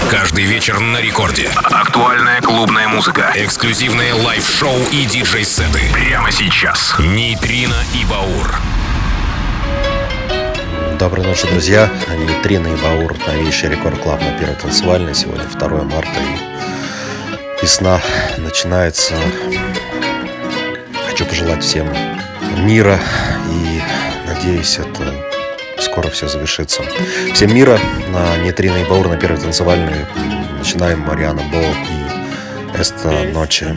Каждый вечер на рекорде. Актуальная клубная музыка, эксклюзивные лайв-шоу и диджей-сеты. Прямо сейчас. Нейтрино и Баур. Доброй ночи, друзья. Нейтрино и Баур. Новейший Рекорд Клаб на Первой танцевальной. Сегодня 2 марта и весна начинается. Хочу пожелать всем мира и надеюсь, это скоро все завершится. Всем мира. На Нейтрино и Баур на Первой танцевальной. Начинаем Мариана Бо и Эста Ночи.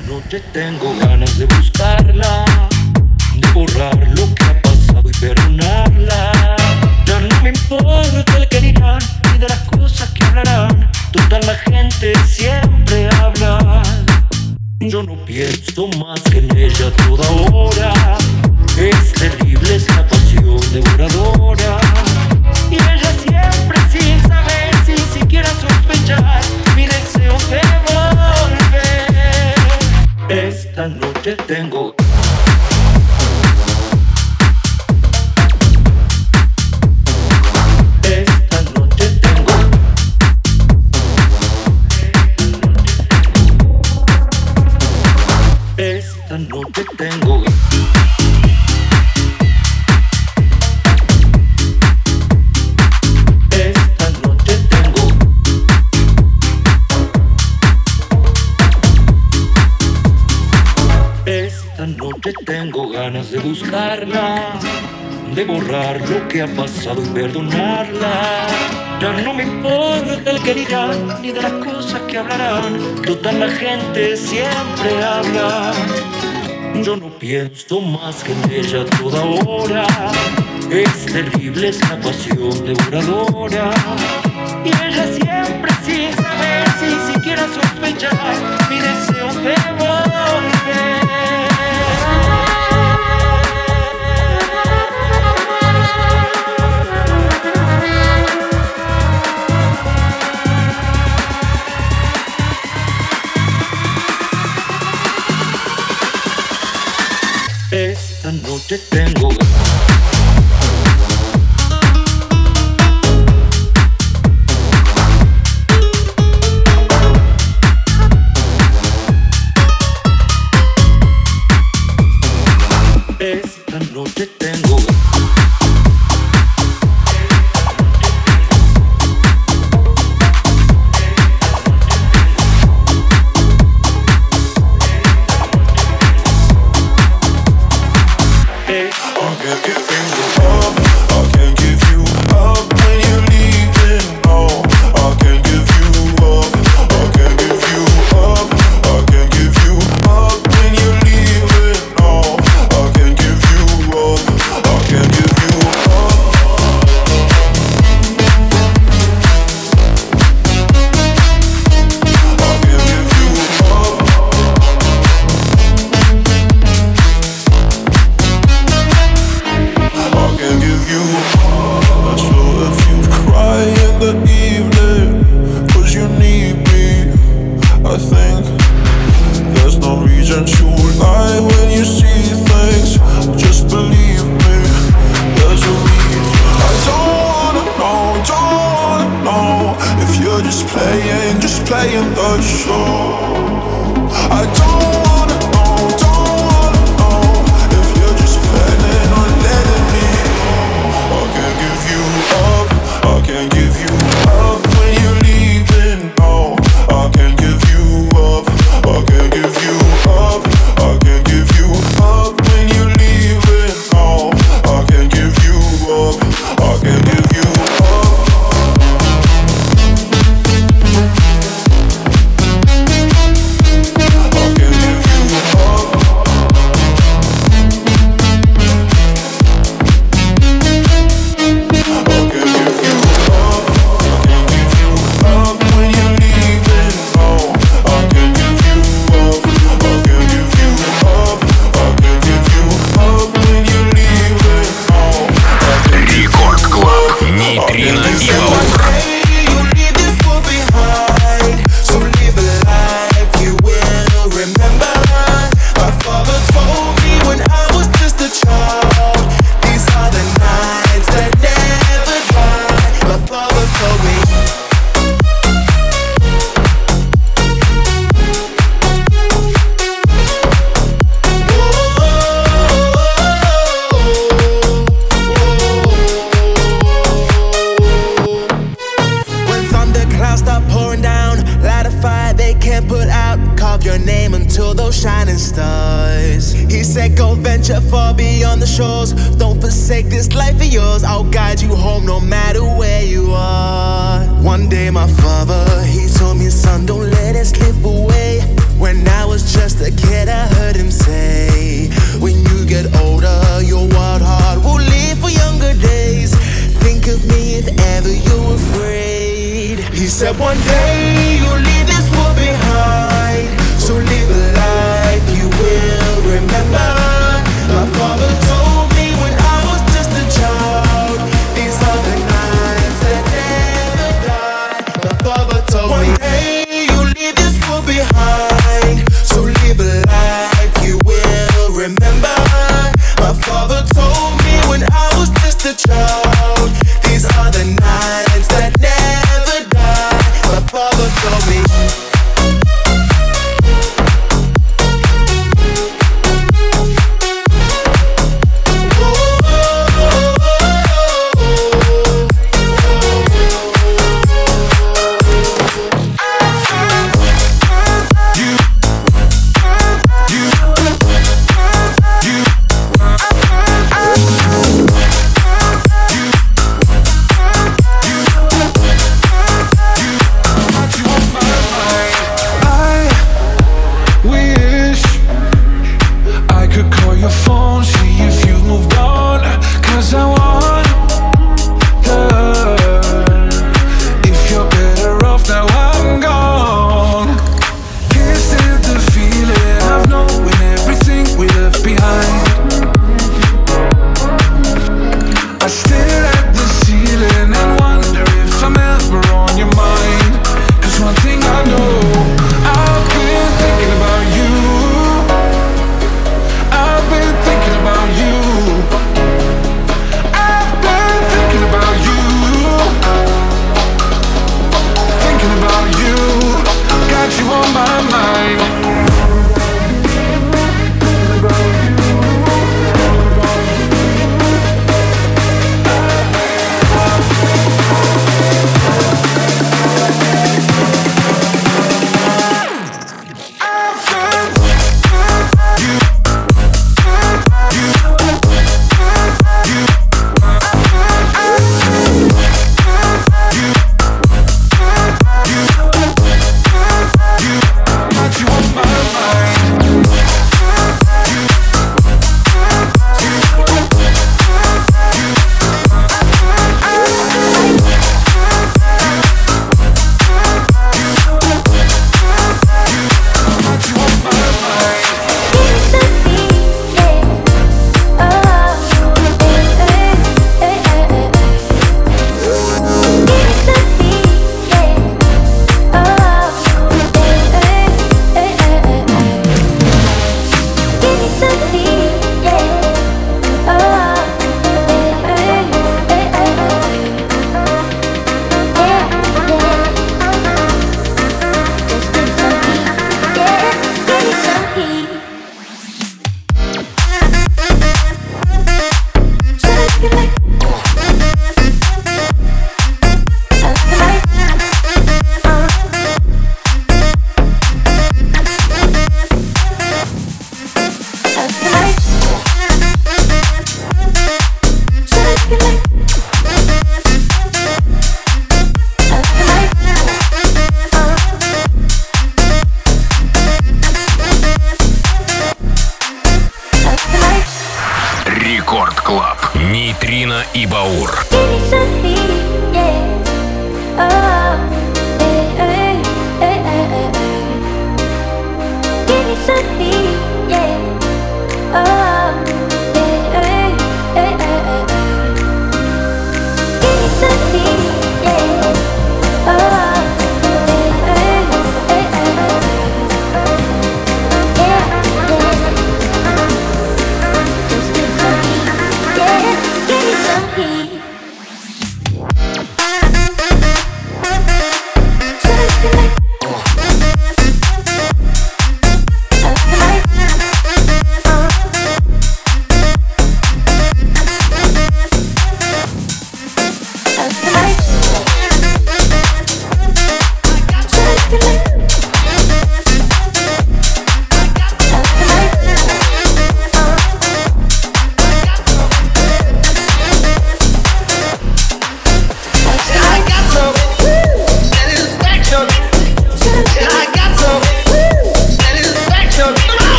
Ya no me importa el que dirán, ni de las cosas que hablarán. Toda la gente siempre habla. Yo no pienso más que en ella toda hora. Es terrible, es la pasión devoradora. Y ella siempre sin saber, sin siquiera sospechar, mi deseo de volver. Esta noche tengo noche tengo esta noche tengo esta noche tengo ganas de buscarla, de borrar lo que ha pasado y perdonarla. Ya no me importa el que dirán, ni de las cosas que hablarán. Toda la gente siempre habla. Yo no pienso más que en ella toda hora. Es terrible, es la pasión devoradora. Y ella siempre sin saber, sin siquiera sospechar, mi deseo de volver. Esta noche tengo esta noche tengo playing the show. I don't wanna know if you're just planning on letting me go. I can't give you up, I can't give you up when you're leaving. No, I can't give you up, I can't give you up, I can't give you up when you're leaving. No, I can't give you up, I can't give you up. stars. He said go venture far beyond the shores. Don't forsake this life of yours. I'll guide you home no matter where you are. One day my father, he told me, son, don't let it slip away. When I was just a kid, I heard him say, when you get older, your wild heart will live for younger days. Think of me if ever you're afraid. He said one day you'll leave this world behind, so live a life you will remember. My father told me when I was just a child, these are the nights that never die. My father told me one day you'll leave this world behind, so live a life you will remember. My father told me when I was just a child, these are the nights that never die. My father told me.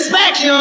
satisfaction.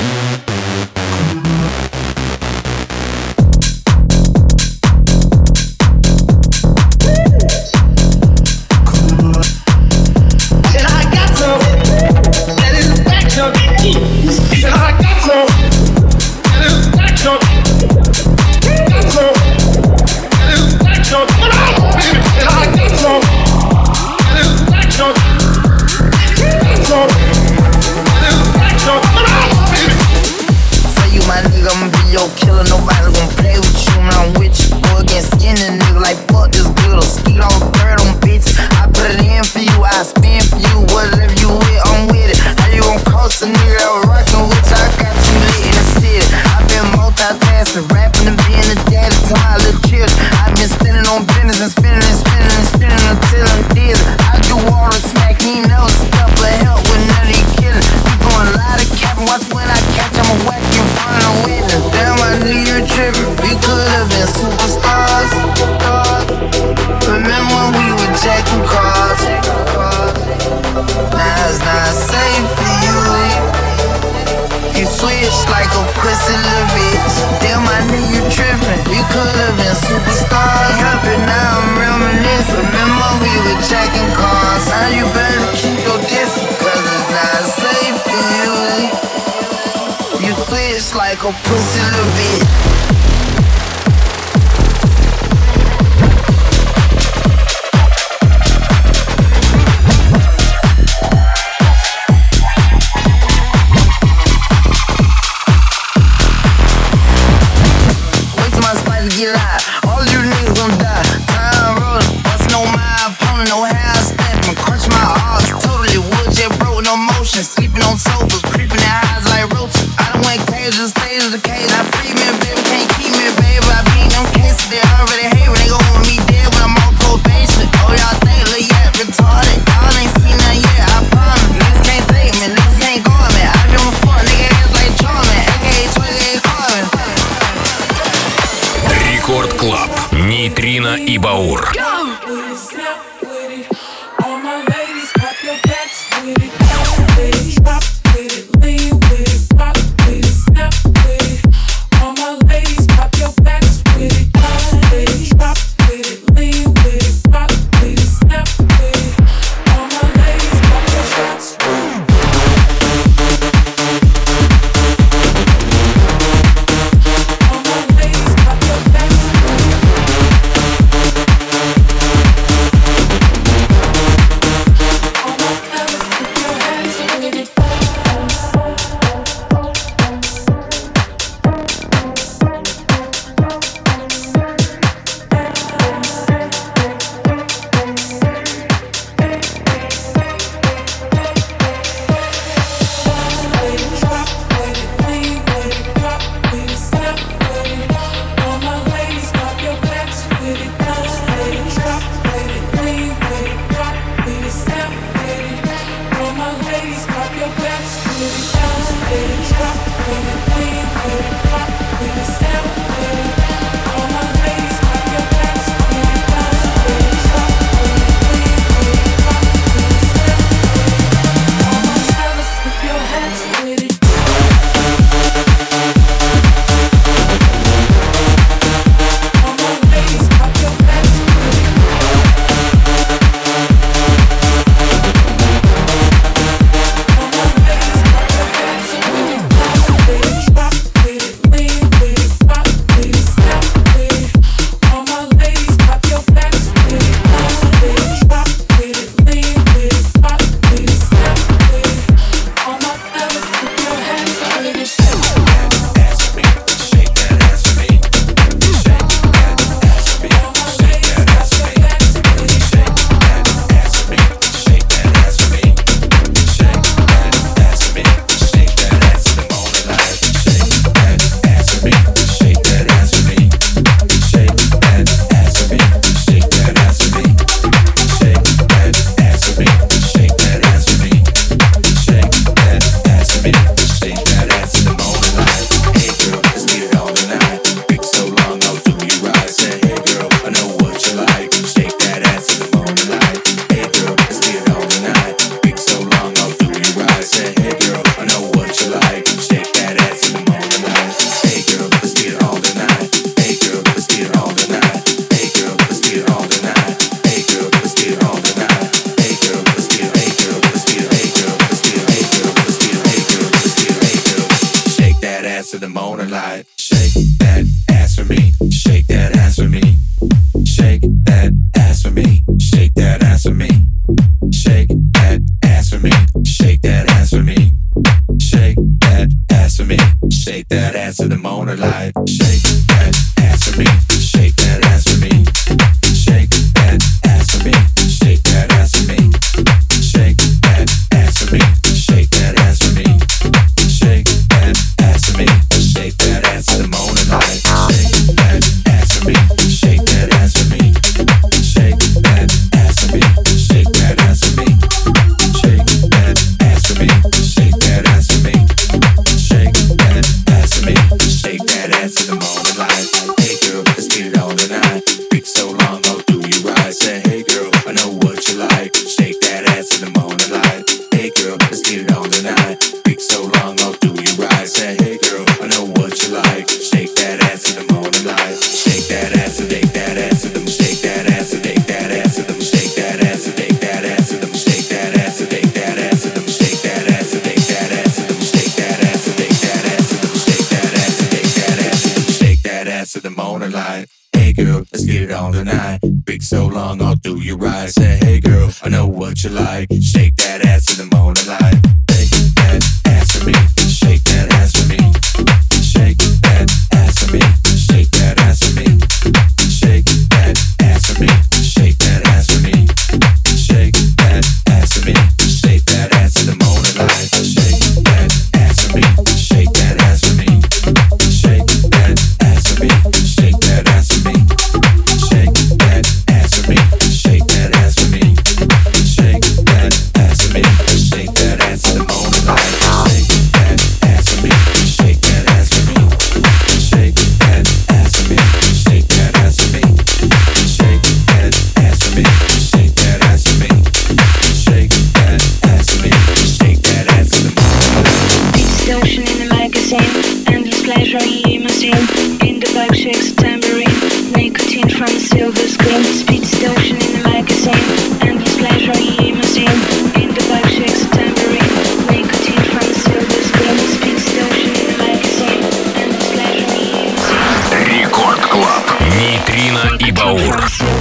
Killer, nobody gon' play with you when I'm with you. Go against skinny nigga like fuck this good. Skeet on bird on bitches. I put it in for you, I spin for you. Whatever you with, I'm with it. How you gon' cost a nigga that was rockin' with you? I got too lit in the city. I been multitasking, rapping and being a daddy to my little children. I been spinning on business and spinning and spinning and spinning until I'm dizzy. I do all the smack, he ain't never step or help with none of these killers. You gon' lie to cap and watch when I catch, I'ma whack you in front of the witness. Damn, I knew you trippin'. We could've been superstars. Remember when we were jacking cars? Now it's not safe for you. You switch like a pussy little bitch. Damn, I knew you trippin'. We could've been superstars. Happy now I'm reminiscing. Remember we were jacking cars. Now you better keep your distance, cause it's not safe for you. You twitch like a pussy little bitch. Wait till my spider get live. All you niggas gon' die. Time rollin', bustin' on my opponent. No how I step and crunch my arms. Totally wood, jet broke, no motion. Sleeping on sofas, creeping in highs like roaches. I done went cages, stays in the cage. I free me, baby, can't keep me, baby. I beat them cases, they already hate when they go with me dead when I'm on probation. Oh, y'all think Lil Yap retarded? Y'all ain't seen nothing yet, I promise. Niggas can't take me, niggas can't go at me. I give a fuck, nigga ass like Charmin, aka 28 Carbon. Рекорд Клаб. Нейтрино и Баур. ass to the morning light. Shake that ass for me. Shake that ass for me. Shake that ass for me. Shake that ass for me. Shake that ass for me. Shake that ass for me. Shake that ass for me. Shake that ass to the morning light. Shake that ass for me. Shake that ass for me. Shake that ass for me. Shake that ass for me. Shake that ass for me. Shake that ass for me. Shake that ass for me. Shake that ass to the morning light. Shake that ass for me. Shake that ass for me. Shake that ass for me. Shake that ass for me. Shake that ass for me. Shake that ass for me. Shake that ass for me. Shake that ass to the morning light. Hey girl, let's get it on tonight. Been so long, oh do you right? Say hey girl, I know what you like. Shake that ass to the morning light. Hey girl, let's get it on tonight. Been so long, oh do you right? Say hey girl, I know what you like. Shake that ass to the morning light. Shake that ass and take that ass to them. Shake that ass and take that ass to them. Shake that ass and take that ass to them. Shake that ass and take that ass to them. Shake that ass and take that ass to them. Shake that ass and take that ass to them. Shake that ass and take that ass to them. Shake that ass to the morning light. Hey girl, let's get it on tonight. Been so long, I'll do you right. Say hey girl, I know what you like. Shake that ass to the morning light. Shake that ass for me. Shake that ass for me. Shake that ass for me. Shake that ass for me. Shake that ass for me. Shake that ass for me. Shake that ass for me. Shake that ass to the morning light. Shake that ass for me. Shake that ass for me. Shake that ass for me. Shake that ass for me. Shake that ass for me. Shake that ass for me. Shake that ass for me. Shake that ass to the morning light. Shake that ass for me. Shake that ass for me. Shake that ass for me. Shake that ass for me. Shake that ass for me. Shake that ass for me. Shake that ass for me. Shake that ass to the morning light. Beats the ocean in the magazine, endless pleasure in limousine. In the bike shakes a tambourine, nicotine from a silver screen. Speeds the ocean in the magazine, endless pleasure in limousine. In the bike shakes a tambourine, nicotine from a silver screen. Speeds the ocean in the magazine, endless pleasure in limousine. Рекорд Клаб. Нейтрино и Баур.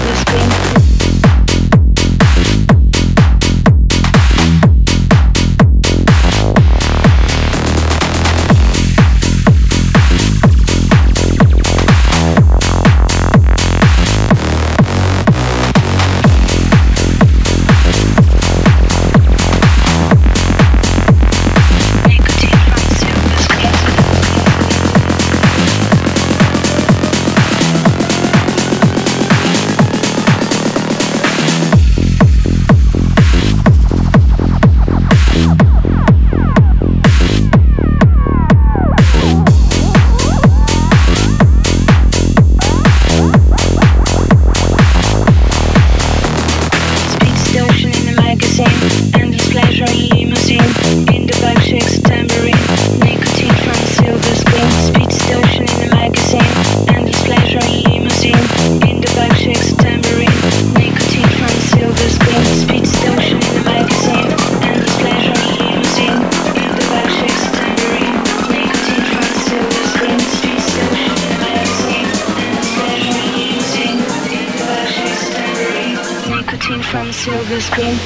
From silver screen.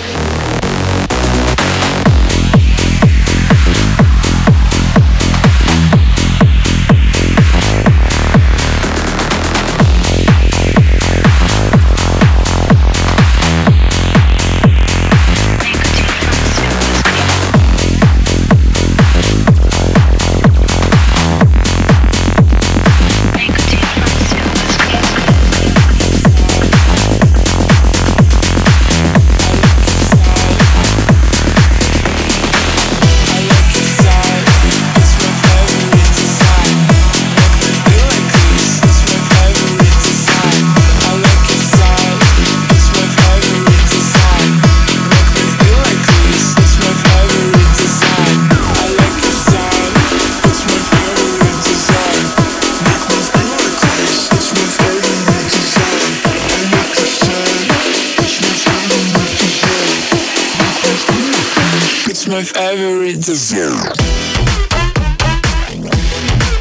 My favorite dessert.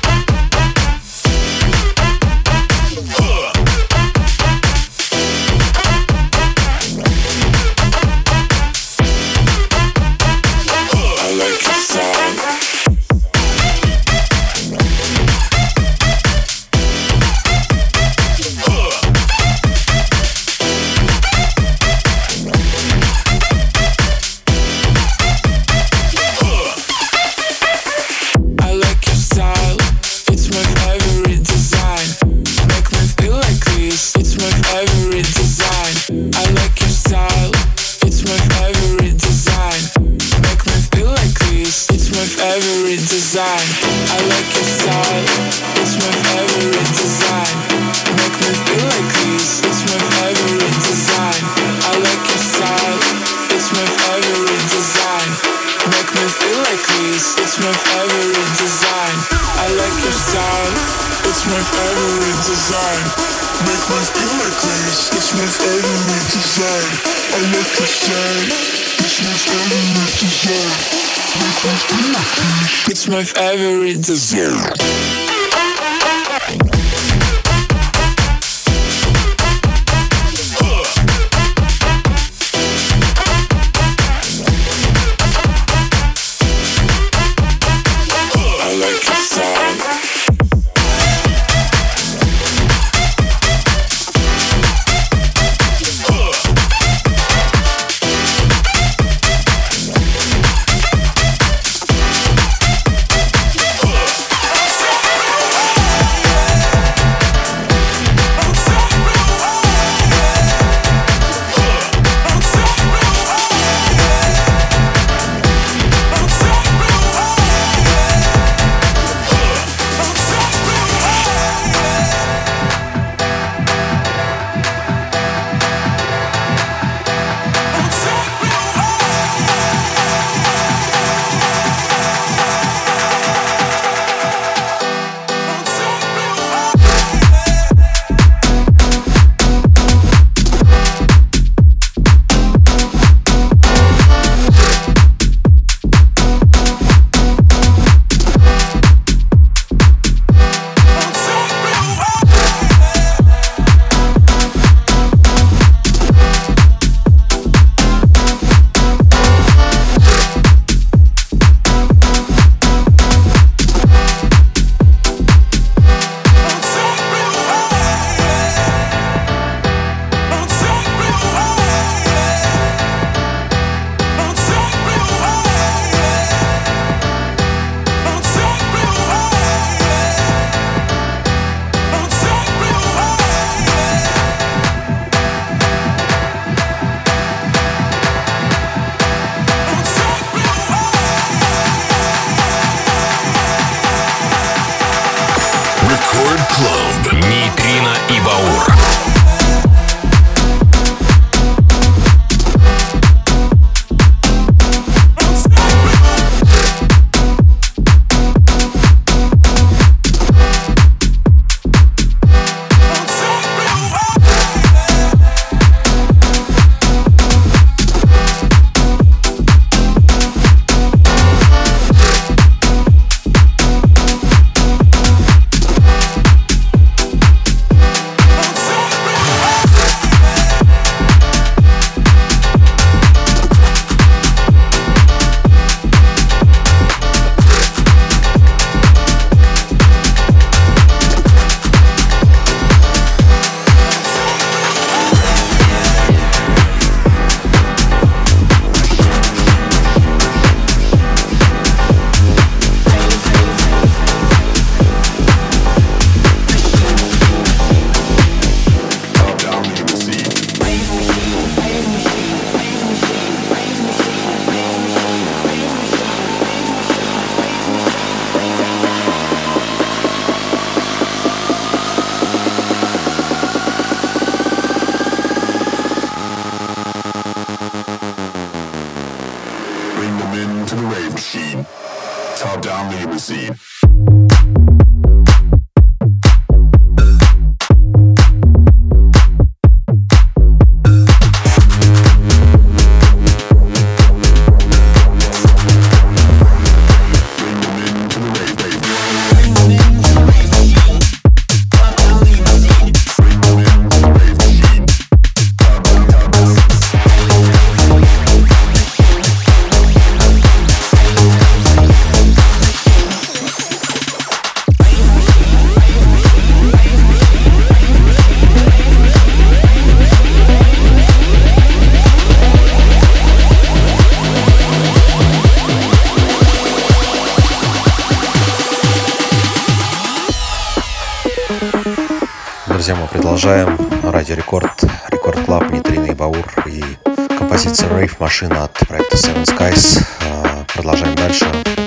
it's my favorite design. I like your style, it's my favorite design. Make me feel like this, it's my favorite design. I like your style, it's my favorite design. Make me feel like this, it's my favorite design. I like your style, it's my favorite design. Make me feel like this, it's my favorite design. I like your style, it's my favorite design. Make me feel like this, it's my favorite design. Нейтрино и Баур. Top-down limousine. Друзья, мы продолжаем. Радио Рекорд, Рекорд Клаб, Нейтрино и Баур и композиция Rave Машина от проекта Seven Skies. продолжаем дальше.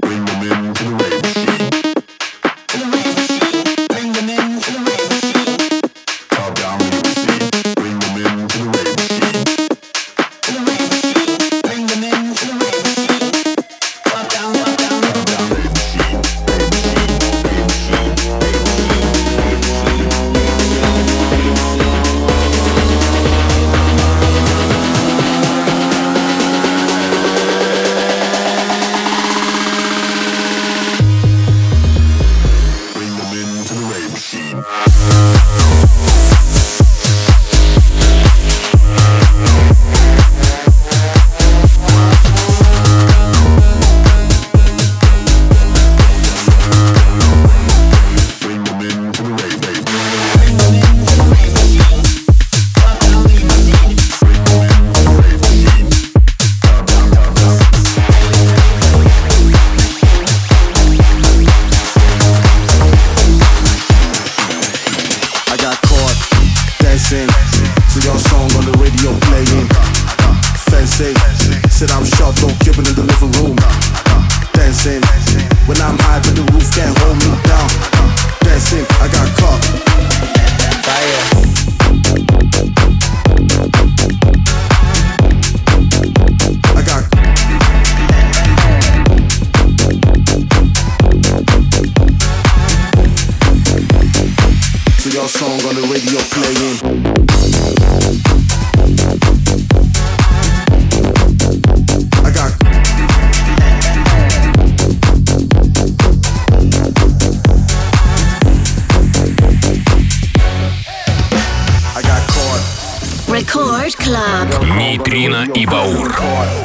Record Club. Нейтрино и Баур.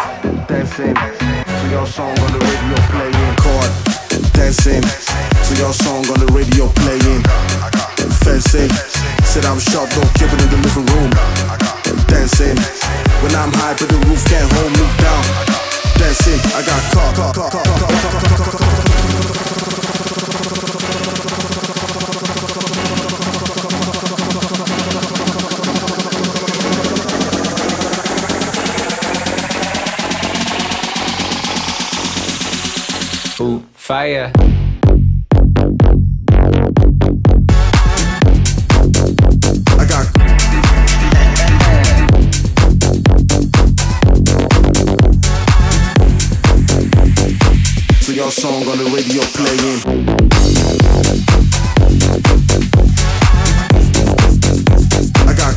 Dancing to your song on the radio playing. Fencing, said I'm sharp, don't keep it in the living room. Dancing, when I'm high, but the roof can't hold me down. Dancing, I got caught. Fire. I got so your song on the radio playing. I got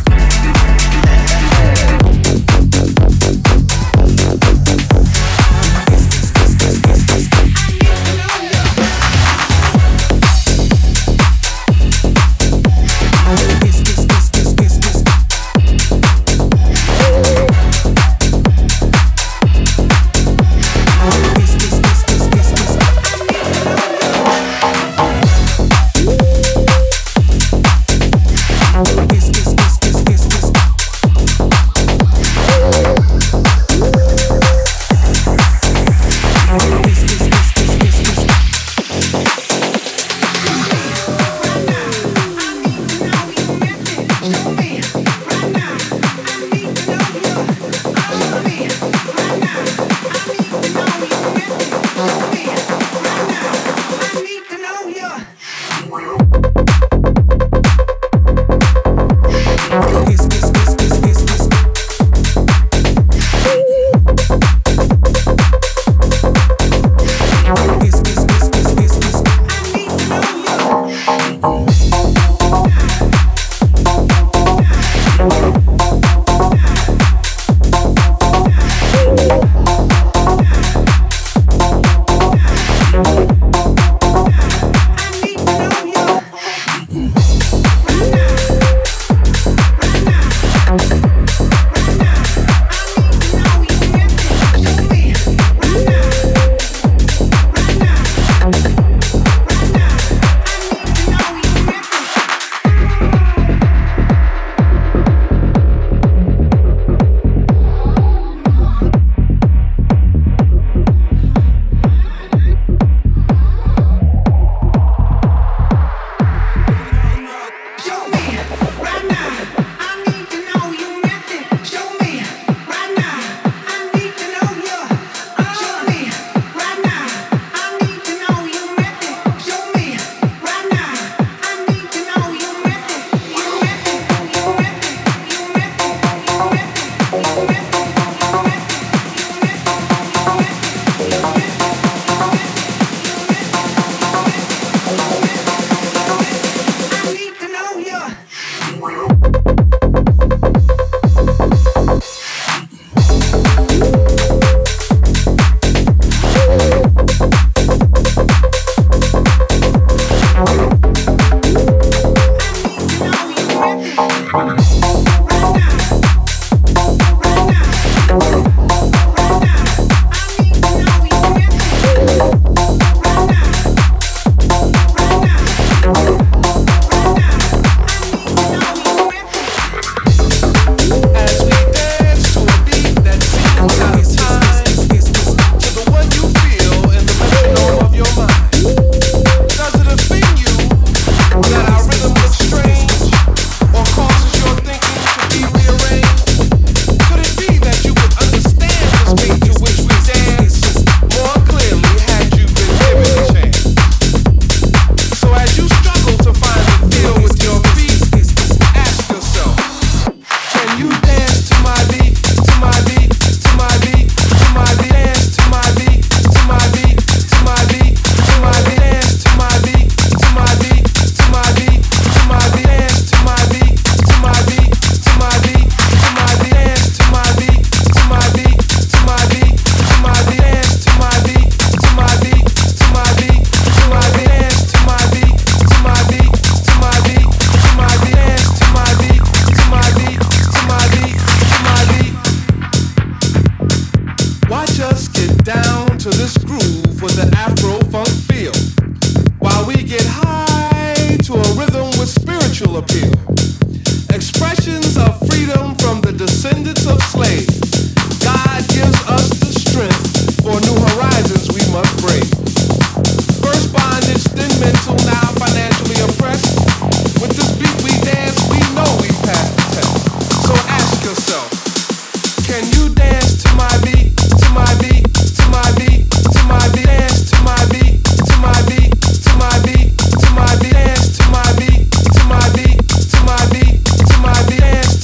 appeal. Expressions of freedom from the descendants of slaves. God gives us the strength for new horizons we must brave. First bondage, then mental, now financially oppressed. With this beat we dance, we know we passed the test. So ask yourself, can you dance to my beat, to my beat, to my beat, to my beat, dance to my beat, to my beat, to my beat, to my beat, dance to my beat, to my beat, to my beat, to my beat, dance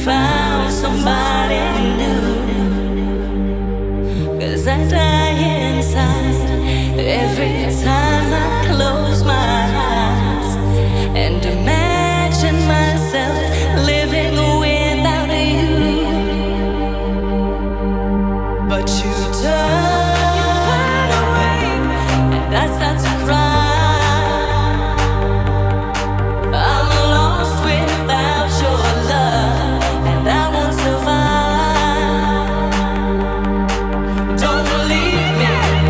found somebody new. 'Cause I die inside every time I close my eyes and imagine myself living without you. But you turn away and I start to cry. I'm lost without your love and I won't survive. Don't leave me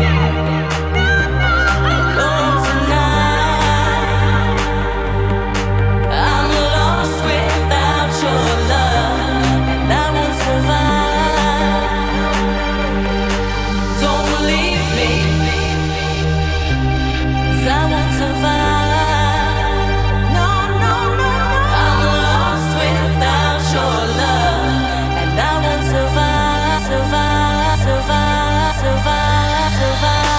alone tonight. I'm lost without your love and I won't survive. Don't leave me, 'cause I won't survive. No, no, no. I'm lost without your love and I won't survive, survive, survive, survive, survive.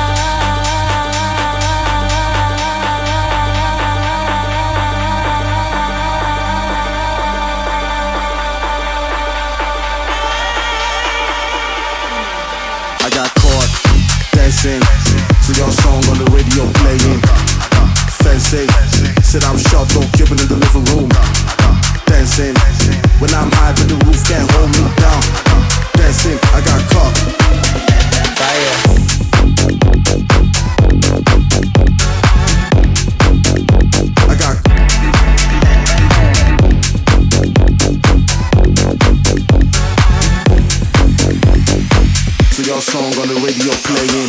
I got caught dancing to your song on the radio playing. Fancy, said I'm sharp, don't keep it in the living room. Dancing, when I'm high but the roof can't hold me down. Dancing, I got caught. Fire. I got to your song on the radio playing.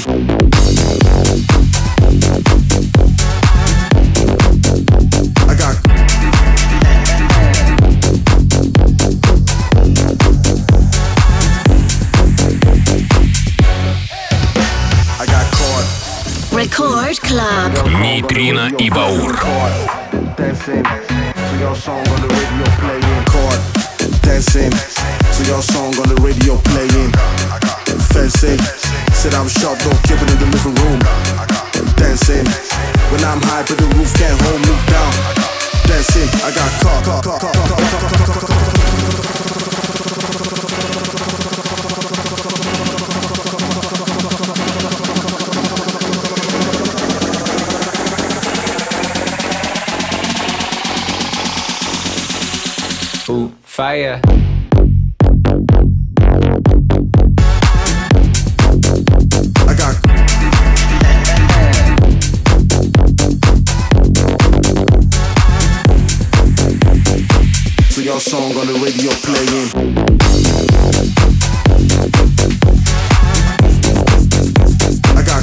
I got caught. Record Club. Нейтрино и Баур. Dancing to your song on the radio playing. Caught dancing to your song on the radio playing. Fancy, said I'm sharp, don't keep it in the living room. Dancing, when I'm high but the roof can't hold me down. Dancing, I got caught. Ooh, fire. I got to your song on the radio playing. I got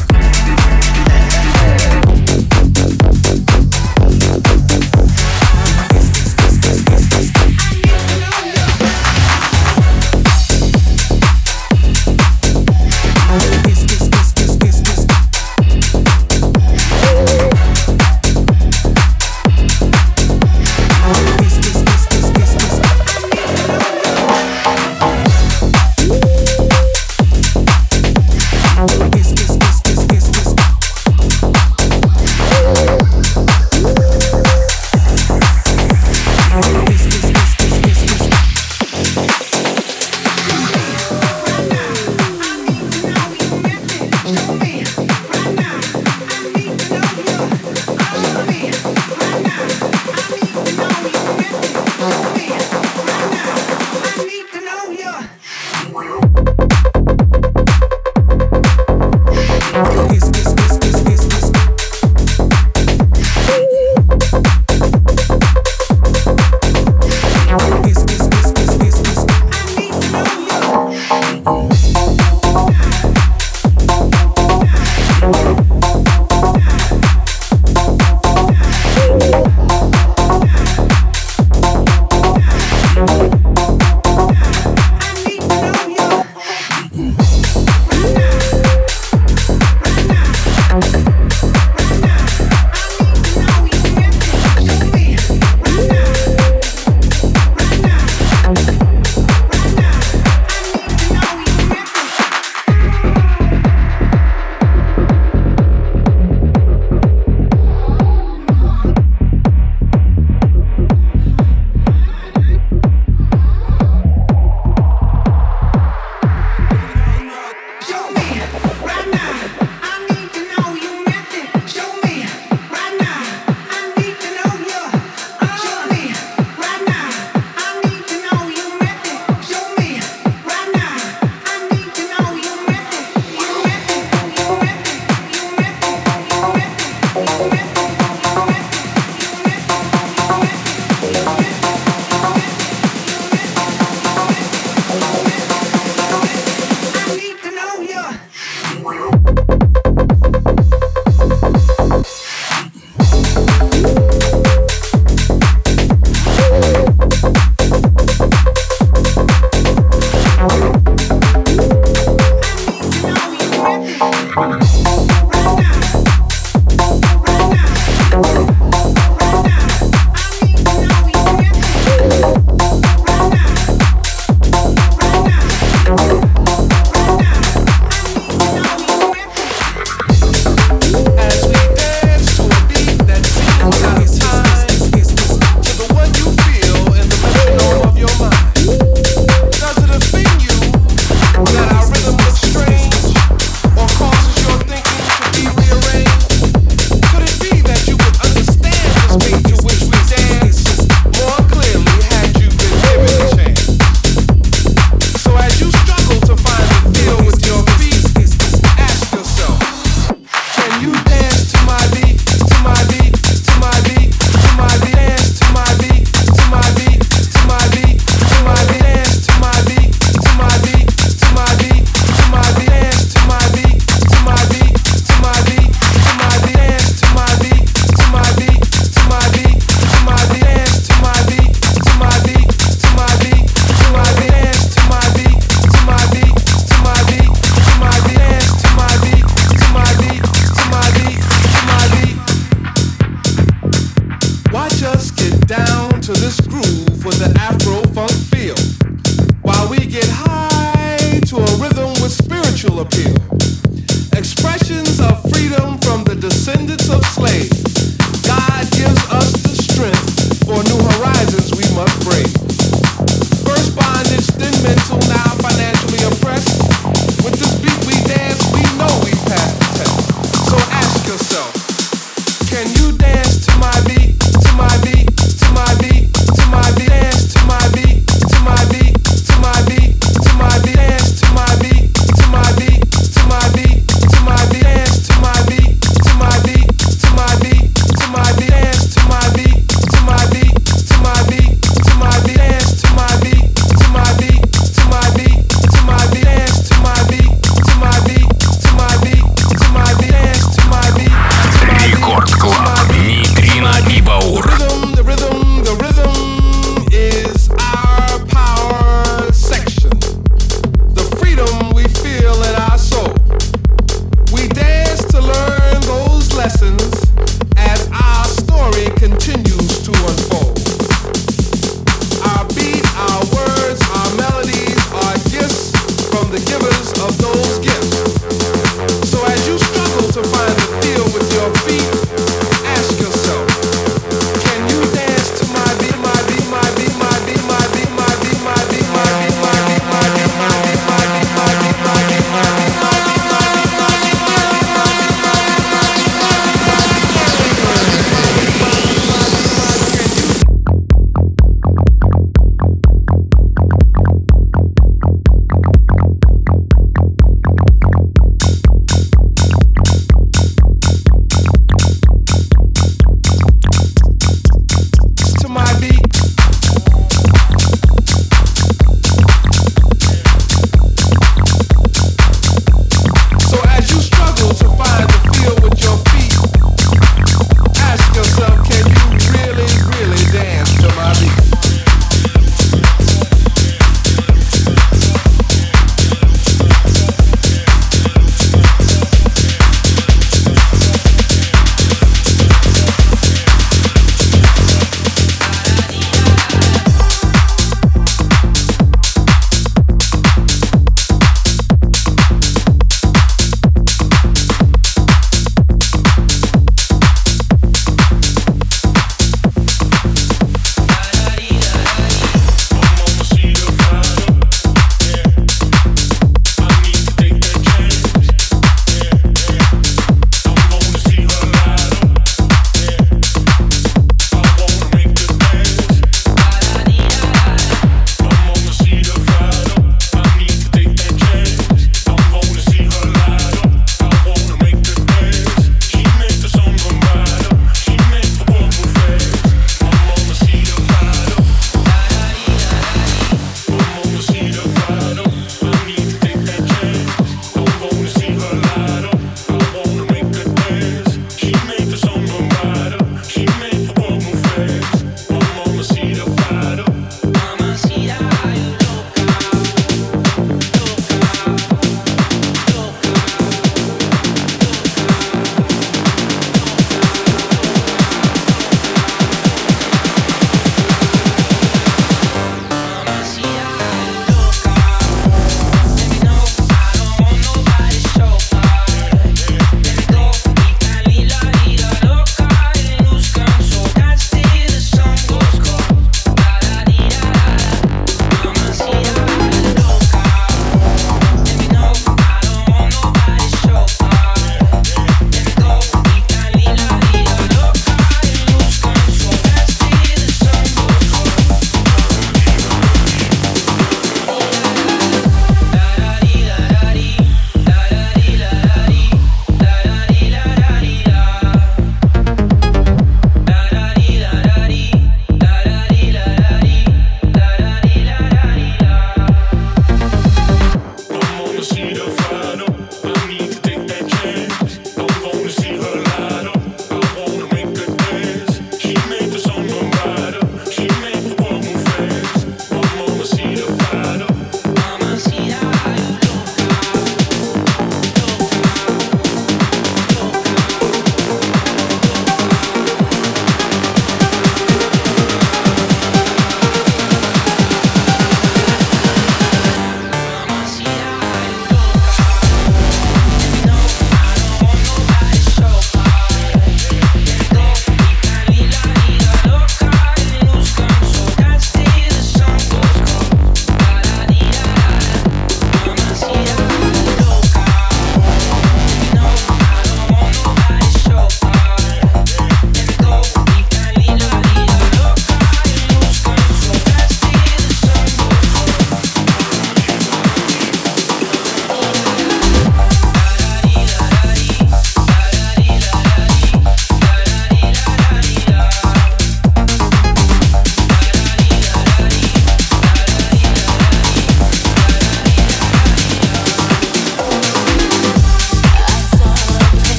the Afro-funk feel, while we get high to a rhythm with spiritual appeal. Expressions of freedom from the descendants of slaves. God gives us the strength for new horizons we must break. First bondage, then mental, now financially oppressed. With this beat we dance, we know we passed the test. So ask yourself, can you dance to my beat, to my beat, to my beat, to my beat, dance to my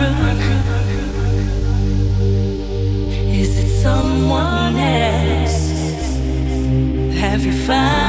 truth? Is it someone else? Have you found?